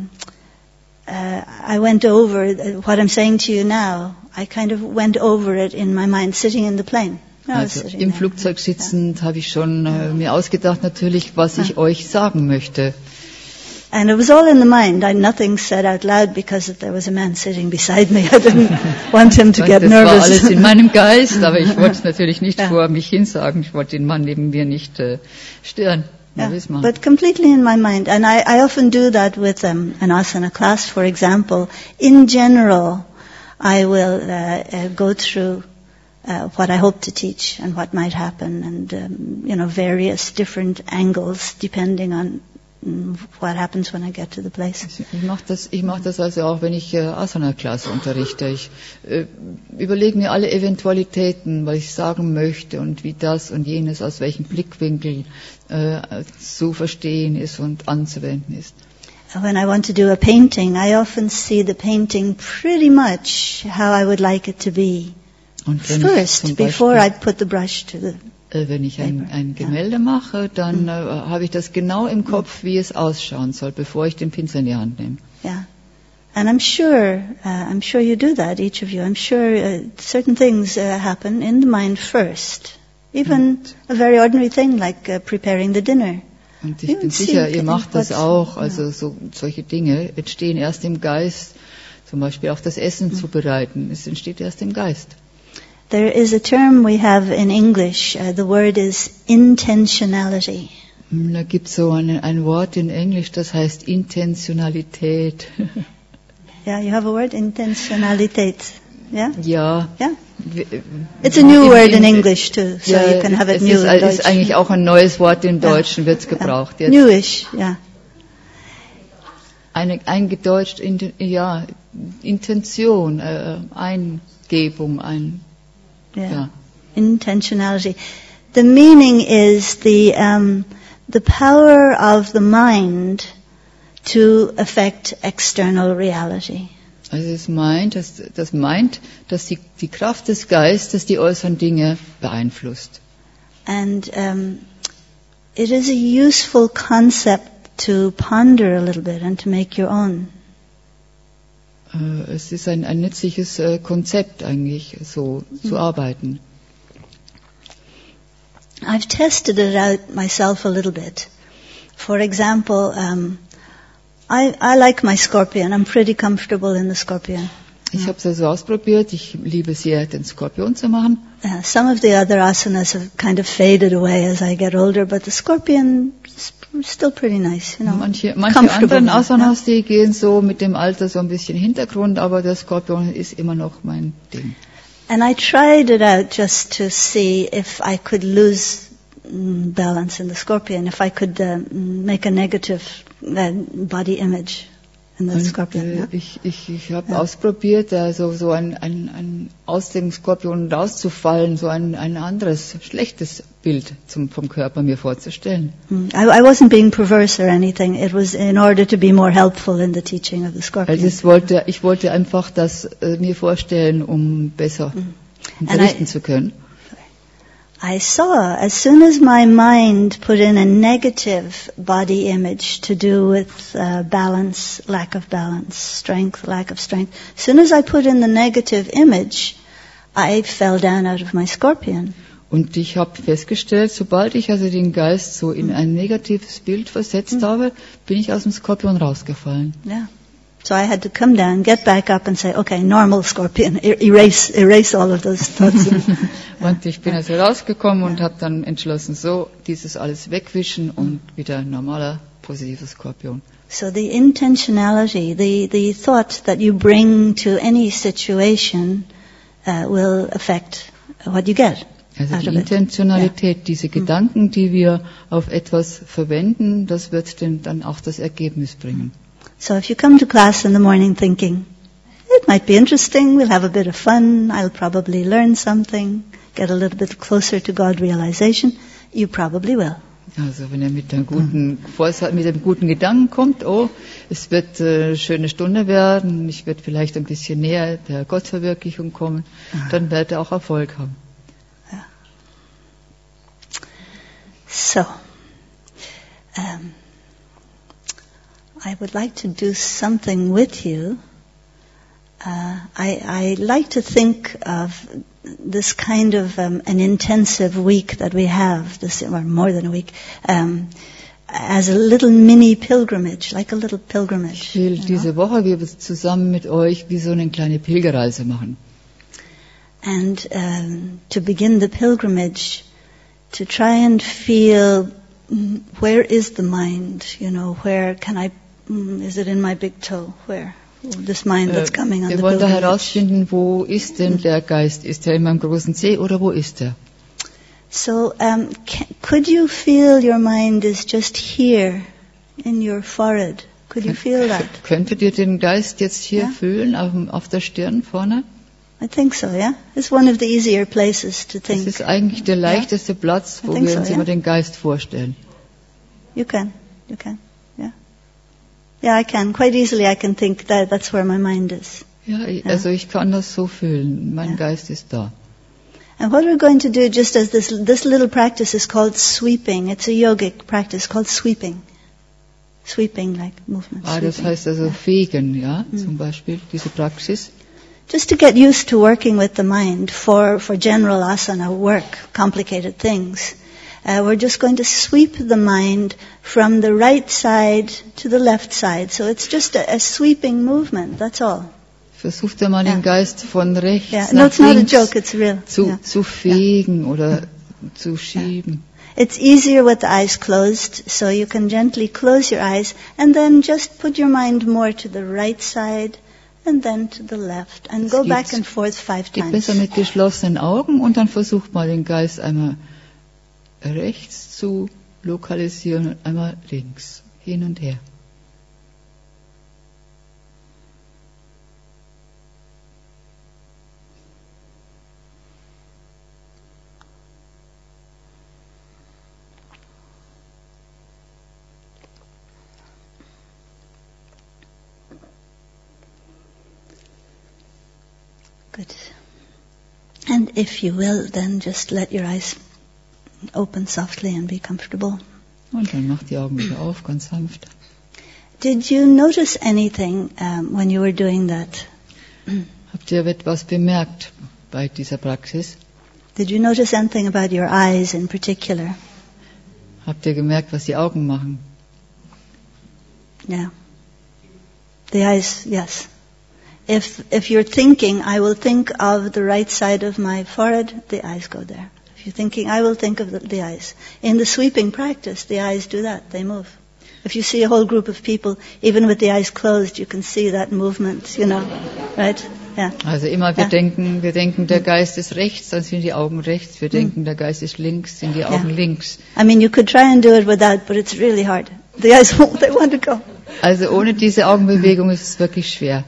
S3: went over what I'm saying to you now. I kind of went over it in my mind, sitting in the plane.
S2: Also im Flugzeug sitzend habe ich schon mir ausgedacht natürlich, was ich euch sagen möchte.
S3: And it was all in the mind. I nothing said out loud because there was a man sitting beside me. I didn't want him to get nervous.
S2: Das war alles in meinem Geist, aber ich wollte es natürlich nicht vor mich hin sagen. Ich wollte den Mann neben mir nicht stören.
S3: Yeah, but completely in my mind. And I often do that with an asana class, for example. In general, I will go through what I hope to teach and what might happen, and various different angles depending on what happens when I get to the place.
S2: Ich mache das also auch, wenn ich Asana-Klasse unterrichte. Ich überlege mir alle Eventualitäten, was ich sagen möchte und wie das und jenes aus welchem Blickwinkel zu verstehen ist und anzuwenden ist.
S3: When I want to do a painting, I often see the painting pretty much how I would like it to be.
S2: Und
S3: first, before I put the brush to the
S2: wenn ich ein Gemälde mache, dann habe ich das genau im Kopf, wie es ausschauen soll, bevor ich den Pinsel in die Hand nehme.
S3: Yeah, and I'm sure you do that, each of you. I'm sure certain things happen in the mind first, even a very ordinary thing like preparing the dinner.
S2: Und ich bin sicher, ihr macht das auch. Also solche Dinge entstehen erst im Geist. Zum Beispiel auch das Essen zubereiten. Es entsteht erst im Geist.
S3: There is a term we have in English. The word is intentionality.
S2: Da gibt es so ein Wort in Englisch, das heißt Intentionalität.
S3: Yeah, you have a word, Intentionalität. Yeah?
S2: Ja.
S3: Yeah? It's a new word in English too, so
S2: ja,
S3: you can have it new in
S2: Deutsch.
S3: Deutsch.
S2: Es ist eigentlich auch ein neues Wort im Deutschen, wird es gebraucht jetzt.
S3: Newish, ja.
S2: Eingedeutscht, Intention, Eingebung,
S3: Intentionality. The meaning is the power of the mind to affect external reality.
S2: Also es meint, dass die Kraft des Geistes die äußeren Dinge beeinflusst.
S3: And it is a useful concept to ponder a little bit and to make your own.
S2: Es ist ein nützliches Konzept eigentlich, so zu arbeiten.
S3: I've tested it out myself a little bit. For example, I like my scorpion. I'm pretty comfortable in the scorpion.
S2: Ich habe es also ausprobiert. Ich liebe sehr, den Skorpion zu machen.
S3: Some of the other asanas have kind of faded away as I get older, but the scorpion is still pretty nice, you know.
S2: Manche anderen Asanas, die gehen so mit dem Alter so ein bisschen Hintergrund, aber der Skorpion ist immer noch mein Ding.
S3: And I tried it out just to see if I could lose balance in the scorpion, if I could make a negative body image in the scorpion.
S2: Ich habe ausprobiert, also so ein aus dem Skorpion rauszufallen, so ein anderes schlechtes Bild vom Körper mir vorzustellen.
S3: I wasn't being perverse or anything. It was in order to be more helpful in the teaching of the scorpion.
S2: Also ich wollte einfach das mir vorstellen, um besser unterrichten zu können.
S3: I saw, as soon as my mind put in a negative body image to do with balance, lack of balance, strength, lack of strength, as soon as I put in the negative image, I fell down out of my scorpion.
S2: Und ich habe festgestellt, sobald ich also den Geist so in ein negatives Bild versetzt habe, bin ich aus dem Skorpion rausgefallen.
S3: Yeah. So I had to come down, get back up and say, okay, normal scorpion, erase all of those thoughts.
S2: Und ich bin also rausgekommen und habe dann entschlossen, so dieses alles wegwischen und wieder normaler, positiver Skorpion.
S3: So the intentionality, the thought that you bring to any situation will affect what you get.
S2: Also die Intentionalität, diese Gedanken, die wir auf etwas verwenden, das wird dann auch das Ergebnis bringen.
S3: So if you come to class in the morning thinking, it might be interesting, we'll have a bit of fun, I'll probably learn something, get a little bit closer to God realization, you probably will.
S2: Also wenn ihr mit einem guten Vorsatz, mit einem guten Gedanken kommt, oh, es wird eine schöne Stunde werden, ich werde vielleicht ein bisschen näher der Gottverwirklichung kommen, dann werdet ihr auch Erfolg haben.
S3: So, I would like to do something with you. I like to think of this kind of an intensive week that we have, or more than a week, as a little mini pilgrimage, like a little pilgrimage.
S2: Ich will diese Woche wir zusammen mit euch wie so eine kleine Pilgerreise machen.
S3: And to begin the pilgrimage, to try and feel where is the mind, where can I, is it in my big toe, where? This mind that's coming on the
S2: wir wollen da
S3: pilgrimage.
S2: herausfinden, wo ist denn der Geist? Ist er in meinem großen Zeh oder wo ist er?
S3: So, could you feel your mind is just here in your forehead? Could you feel that?
S2: Könntet ihr den Geist jetzt hier fühlen, auf der Stirn vorne?
S3: I think so, yeah? It's one of the easier places to
S2: Das
S3: think.
S2: ist eigentlich der leichteste Platz, wo
S3: I think
S2: wir
S3: so,
S2: uns
S3: yeah.
S2: immer den Geist vorstellen.
S3: You can, yeah. Yeah, I can. Quite easily I can think that's where my mind is.
S2: Ja, also ich kann das so fühlen. Mein Geist ist da.
S3: And what we're going to do, just as this little practice is called sweeping. It's a yogic practice called sweeping. Sweeping, like movement.
S2: Das
S3: sweeping.
S2: heißt also fegen, ja, zum Beispiel, diese Praxis.
S3: Just to get used to working with the mind for general asana work, complicated things. We're just going to sweep the mind from the right side to the left side. So it's just a sweeping movement, that's all.
S2: Versucht einmal den Geist von rechts
S3: Yeah. No,
S2: nach
S3: it's not a
S2: links
S3: joke, it's real.
S2: zu fegen oder zu schieben.
S3: It's easier with the eyes closed, so you can gently close your eyes and then just put your mind more to the right side and then to the left and go back and forth 5
S2: Geht
S3: times.
S2: besser mit geschlossenen Augen und dann versucht mal den Geist einmal rechts zu lokalisieren und einmal links, hin und her.
S3: Good. And if you will, then just let your eyes open softly and be comfortable.
S2: Und dann macht die Augen wieder auf, ganz sanft.
S3: Did you notice anything when you were doing that?
S2: Habt ihr etwas bemerkt bei dieser Praxis?
S3: Did you notice anything about your eyes in particular?
S2: Habt ihr gemerkt, was die Augen machen?
S3: Yeah. The eyes, yes. If you're thinking, I will think of the right side of my forehead, the eyes go there. If you're thinking, I will think of the eyes. In the sweeping practice, the eyes do that. They move. If you see a whole group of people, even with the eyes closed, you can see that movement, right? Yeah.
S2: Also immer wir denken, der Geist ist rechts, dann sind die Augen rechts. Wir denken, der Geist ist links, sind die Augen links.
S3: I mean, you could try and do it without, but it's really hard. The eyes, they want to go.
S2: Also ohne diese Augenbewegung ist es wirklich schwer.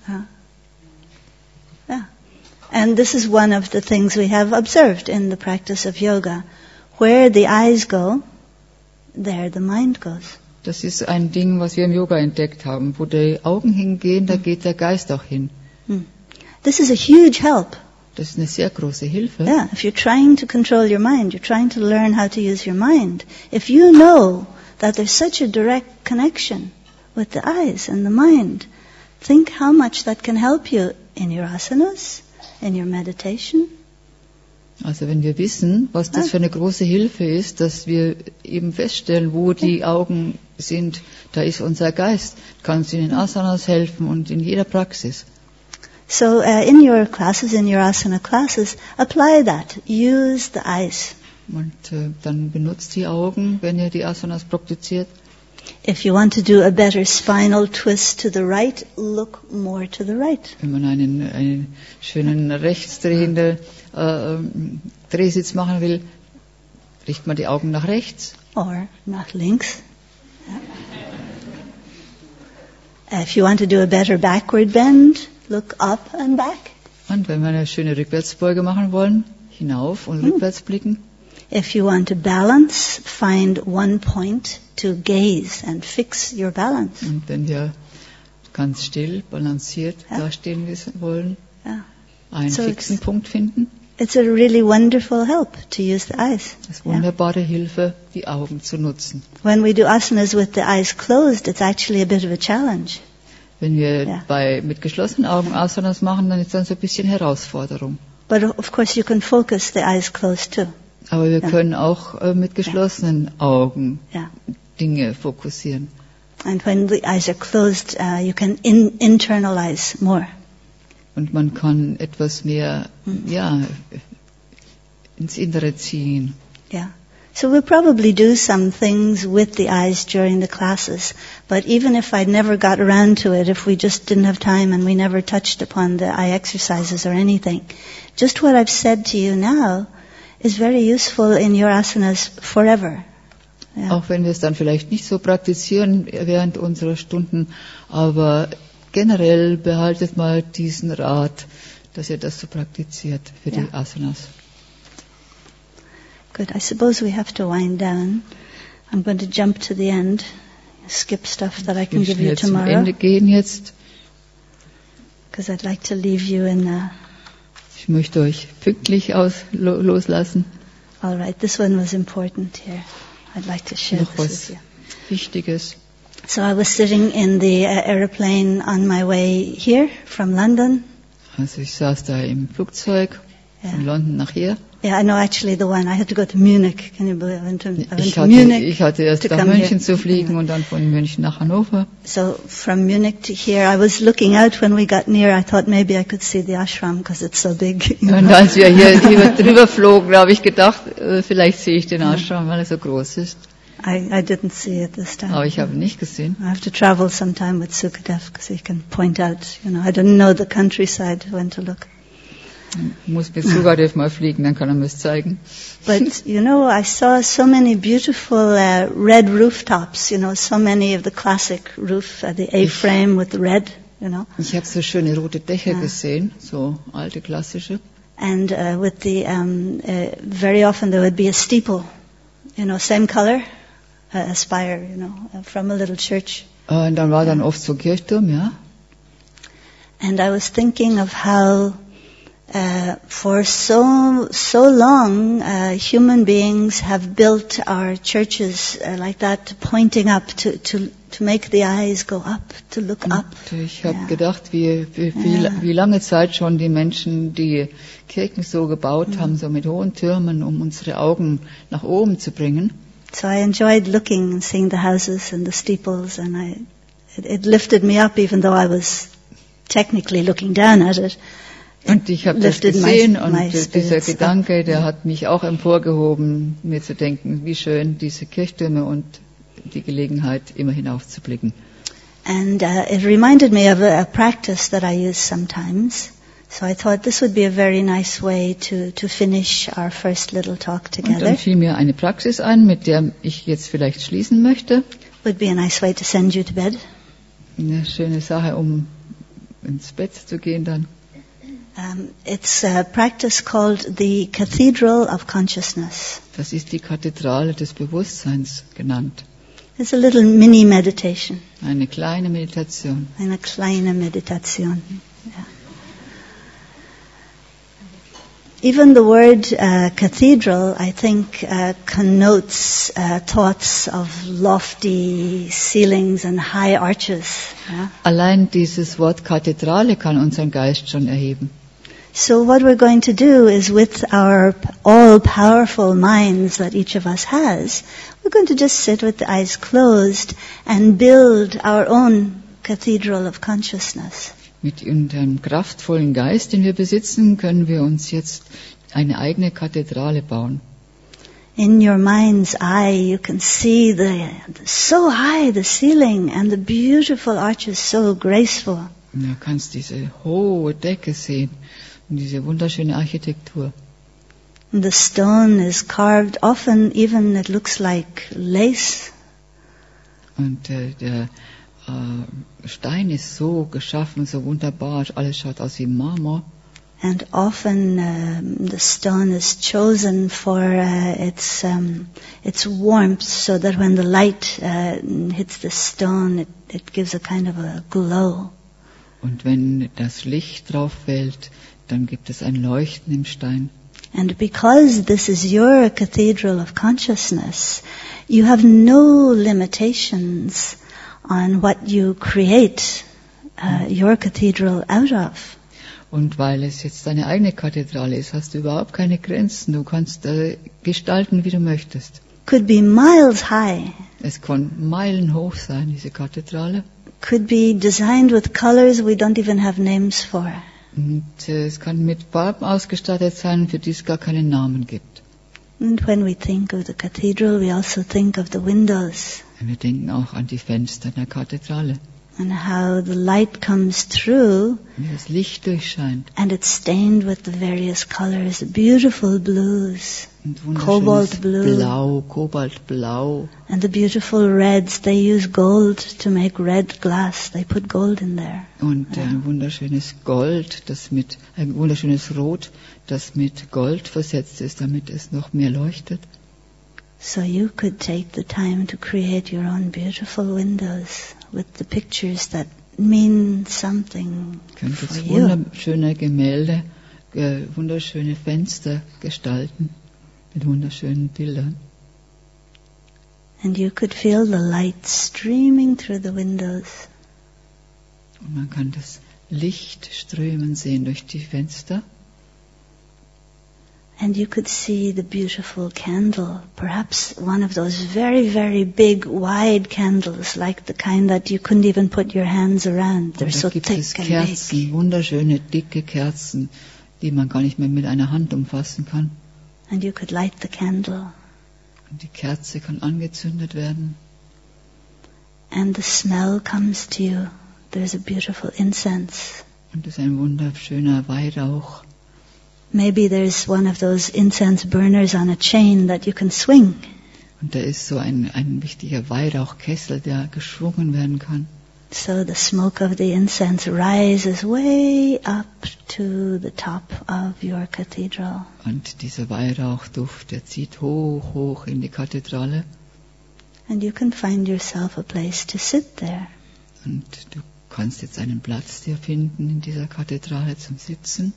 S3: And this is one of the things we have observed in the practice of yoga. Where the eyes go, there the mind goes.
S2: Das ist ein Ding, was wir im Yoga entdeckt haben. Wo die Augen hingehen, da geht der Geist auch hin.
S3: This is a huge help.
S2: Das ist eine sehr große Hilfe.
S3: Yeah, if you're trying to control your mind, you're trying to learn how to use your mind. If you know that there's such a direct connection with the eyes and the mind, think how much that can help you in your asanas, in your meditation.
S2: Also wenn wir wissen, was das für eine große Hilfe ist, dass wir eben feststellen, wo die Augen sind, da ist unser Geist, kann uns in den Asanas helfen und in jeder Praxis.
S3: So in your classes, in your asana classes, apply that. Use the eyes.
S2: Und dann benutzt die Augen, wenn ihr die Asanas praktiziert.
S3: If you want to do a better spinal twist to the right, look more to the right.
S2: Wenn man einen schönen rechtsdrehenden Drehsitz machen will, richtet man die Augen nach rechts.
S3: Or nach links. If you want to do a better backward bend, look up and back.
S2: Und wenn wir eine schöne Rückwärtsbeuge machen wollen, hinauf und rückwärts blicken.
S3: If you want to balance, find one point to gaze and fix your balance.
S2: Und wenn wir ganz still, balanciert
S3: Ja.
S2: dastehen wollen,
S3: Yeah.
S2: einen
S3: So
S2: fixen Punkt finden,
S3: It's a really wonderful help to use the eyes.
S2: das ist wunderbare Hilfe, die Augen zu nutzen.
S3: When we do asanas with the eyes closed, it's actually a bit of a challenge.
S2: Wenn wir
S3: Ja.
S2: mit geschlossenen Augen Asanas machen, dann ist das ein bisschen Herausforderung.
S3: But of course you can focus the eyes closed too.
S2: Aber wir
S3: Ja.
S2: können auch mit geschlossenen Augen
S3: Yeah.
S2: Dinge fokussieren.
S3: And when the eyes are closed, you can internalize more.
S2: Und man kann etwas mehr, ins Innere ziehen.
S3: Yeah. So we'll probably do some things with the eyes during the classes. But even if I never got around to it, if we just didn't have time and we never touched upon the eye exercises or anything, just what I've said to you now is very useful in your asanas forever. Yeah.
S2: Auch wenn wir es dann vielleicht nicht so praktizieren während unserer Stunden, aber generell behaltet mal diesen Rat, dass ihr das so praktiziert für die Asanas.
S3: Good. I suppose we have to wind down. I'm going to jump to the end, skip stuff that I can
S2: Wir
S3: give you
S2: schnell zum
S3: tomorrow,
S2: Ende gehen jetzt.
S3: because I'd like to leave you in
S2: Ich möchte euch pünktlich loslassen.
S3: all right, this one was important here. I'd like to share
S2: Noch
S3: this
S2: was
S3: with you.
S2: Wichtiges.
S3: So I was sitting in the airplane on my way here from London.
S2: Also ich saß da im Flugzeug von London nach hier.
S3: Yeah, I know actually the one. I had to go to Munich. Can you believe? I went
S2: Ich
S3: to Munich.
S2: Ich hatte erst
S3: to
S2: nach
S3: come
S2: München
S3: here.
S2: zu fliegen und dann von München nach Hannover.
S3: So from Munich to here, I was looking out when we got near. I thought maybe I could see the ashram because it's so big. you
S2: Und
S3: know.
S2: als wir hier drüber flogen, habe ich gedacht, vielleicht sehe ich den Ashram, weil er so groß ist.
S3: I didn't see it this time.
S2: Aber ich habe ihn nicht gesehen.
S3: I have to travel sometime with Sukadev because he can point out. I didn't know the countryside when to look.
S2: Ich muss mit Sukadev mal fliegen, dann kann er mir es zeigen.
S3: But I saw so many beautiful red rooftops. So many of the classic roof, the A-frame with the red.
S2: Ich habe so schöne rote Dächer gesehen, so alte klassische.
S3: And with the very often there would be a steeple, same color, a spire, from a little church.
S2: Und dann war dann oft so ein Kirchturm, ja.
S3: And I was thinking of how for so long human beings have built our churches like that, pointing up to make the eyes go up, to look up.
S2: Und ich habe gedacht, wie lange Zeit schon die Menschen die Kirchen so gebaut haben, so mit hohen Türmen, um unsere Augen nach oben zu bringen.
S3: So I enjoyed looking and seeing the houses and the steeples, and it lifted me up, even though I was technically looking down at it.
S2: Und ich habe das gesehen und dieser Gedanke, der hat mich auch emporgehoben, mir zu denken, wie schön diese Kirchtürme und die Gelegenheit, immer hinaufzublicken.
S3: And it reminded me of a practice that I use sometimes. So I thought this would be a very nice way to finish our first little talk
S2: Und dann
S3: together.
S2: fiel mir eine Praxis ein, mit der ich jetzt vielleicht schließen möchte.
S3: Would be a nice way to send you to bed.
S2: Eine schöne Sache, um ins Bett zu gehen dann.
S3: It's a practice called the Cathedral of Consciousness.
S2: Das ist die Kathedrale des Bewusstseins genannt.
S3: It's a little mini meditation.
S2: Eine kleine Meditation.
S3: Eine kleine Meditation. Yeah. Even the word cathedral, I think, connotes thoughts of lofty ceilings and high arches. Yeah?
S2: Allein dieses Wort Kathedrale kann unseren Geist schon erheben.
S3: So what we're going to do is, with our all-powerful minds that each of us has, we're going to just sit with the eyes closed and build our own cathedral of consciousness.
S2: Mit einem kraftvollen Geist, den wir besitzen, können wir uns jetzt eine eigene Kathedrale bauen.
S3: In your mind's eye, you can see so high the ceiling and the beautiful arches, so graceful.
S2: Du kannst diese hohe Decke sehen und diese wunderschöne Architektur.
S3: And the stone is carved often, even it looks like lace.
S2: Und der Stein ist so geschaffen, so wunderbar, alles schaut aus wie Marmor.
S3: And often the stone is chosen for its warmth, so that when the light hits the stone, it gives a kind of a glow.
S2: Und wenn das Licht drauf fällt, dann gibt es ein Leuchten im Stein.
S3: And because this is your cathedral of consciousness, you have no limitations on what you create your cathedral out of.
S2: Und weil es jetzt deine eigene Kathedrale ist, hast du überhaupt keine Grenzen. Du kannst gestalten, wie du möchtest.
S3: Could be miles high.
S2: Es kann meilenhoch sein, diese Kathedrale.
S3: Could be designed with colors we don't even have names for.
S2: Und es kann mit Farben ausgestattet sein, für die es gar keinen Namen gibt.
S3: And when we think of the cathedral, we also think of the windows.
S2: Und wir denken auch an die Fenster der Kathedrale.
S3: And how the light comes through
S2: Wie das Licht durchscheint.
S3: and it's stained with the various colors, beautiful blues,
S2: Und
S3: Cobalt
S2: wunderschönes
S3: blue.
S2: Blau, Kobaltblau.
S3: and the beautiful reds. They use gold to make red glass. They put gold in there.
S2: Und ein wunderschönes Gold, ein wunderschönes Rot, das mit Gold versetzt ist, damit es noch mehr leuchtet.
S3: So you could take the time to create your own beautiful windows with the pictures that mean something
S2: Ihr könnt
S3: for
S2: jetzt
S3: you.
S2: wunderschöne Gemälde, wunderschöne Fenster gestalten mit wunderschönen Bildern.
S3: And you could feel the light streaming through the windows.
S2: Und man kann das Licht strömen sehen durch die Fenster.
S3: And you could see the beautiful candle, perhaps one of those very, very big, wide candles, like the kind that you couldn't even put your hands around. They're
S2: Und
S3: so
S2: da gibt es
S3: thick and
S2: Kerzen,
S3: big.
S2: wunderschöne, dicke Kerzen, die man gar nicht mehr mit einer Hand umfassen kann.
S3: And you could light the candle.
S2: Und die Kerze kann angezündet werden.
S3: And the smell comes to you. There's a beautiful incense.
S2: Und es ist ein wunderschöner Weihrauch.
S3: Maybe there's one of those incense burners on a chain that you can swing.
S2: Und da ist so ein wichtiger Weihrauchkessel, der geschwungen werden kann.
S3: So the smoke of the incense rises way up to the top of your cathedral.
S2: Und dieser Weihrauchduft, der zieht hoch, hoch in die Kathedrale.
S3: And you can find yourself a place to sit there.
S2: Und du kannst jetzt einen Platz dir finden in dieser Kathedrale zum Sitzen.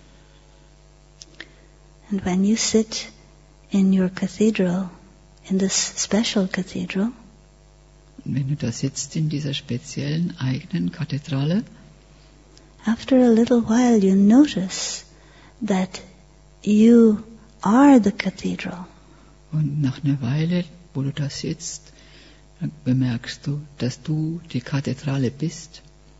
S3: And when you sit in your cathedral, in this special cathedral,
S2: Und wenn du da sitzt in dieser speziellen eigenen Kathedrale,
S3: after a little while you notice that you are the cathedral.
S2: und nach einer Weile, wo du da sitzt, dann bemerkst du, dass du die Kathedrale bist.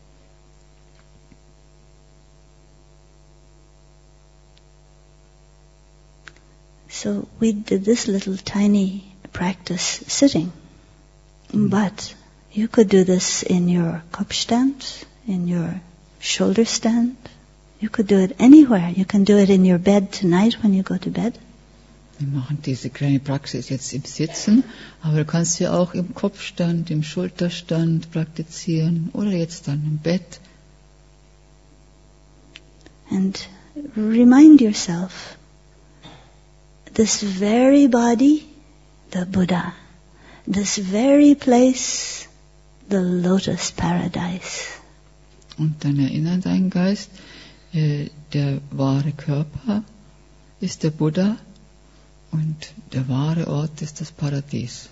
S3: So we did this little tiny practice sitting. But you could do this in your Kopfstand, in your shoulder stand. You could do it anywhere. You can do it in your bed tonight when you go to bed.
S2: Wir machen diese kleine Praxis jetzt im Sitzen, aber du kannst sie auch im Kopfstand, im Schulterstand praktizieren oder jetzt dann im Bett.
S3: And remind yourself, this very body, the Buddha, this very place, the lotus paradise.
S2: Und dann erinnere deinen Geist, der wahre Körper ist der Buddha und der wahre Ort ist das Paradies.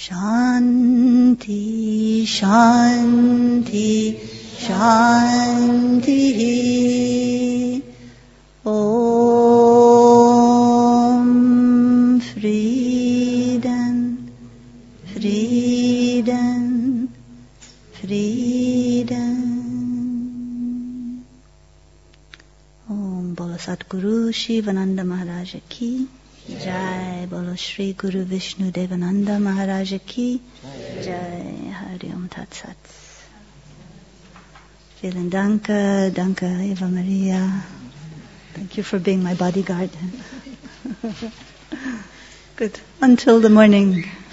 S3: Shanti, Shanti, Shanti. Om Frieden, Frieden, Frieden. Om Bolo Satguru Shivananda Maharaj Ki Jai, Bolo Shri Guru Vishnu Devananda Maharaj Ki Jai, Hari Om Tat Sat. Vielen Dank, danke Eva Maria. Thank you for being my bodyguard. Good. Until the morning.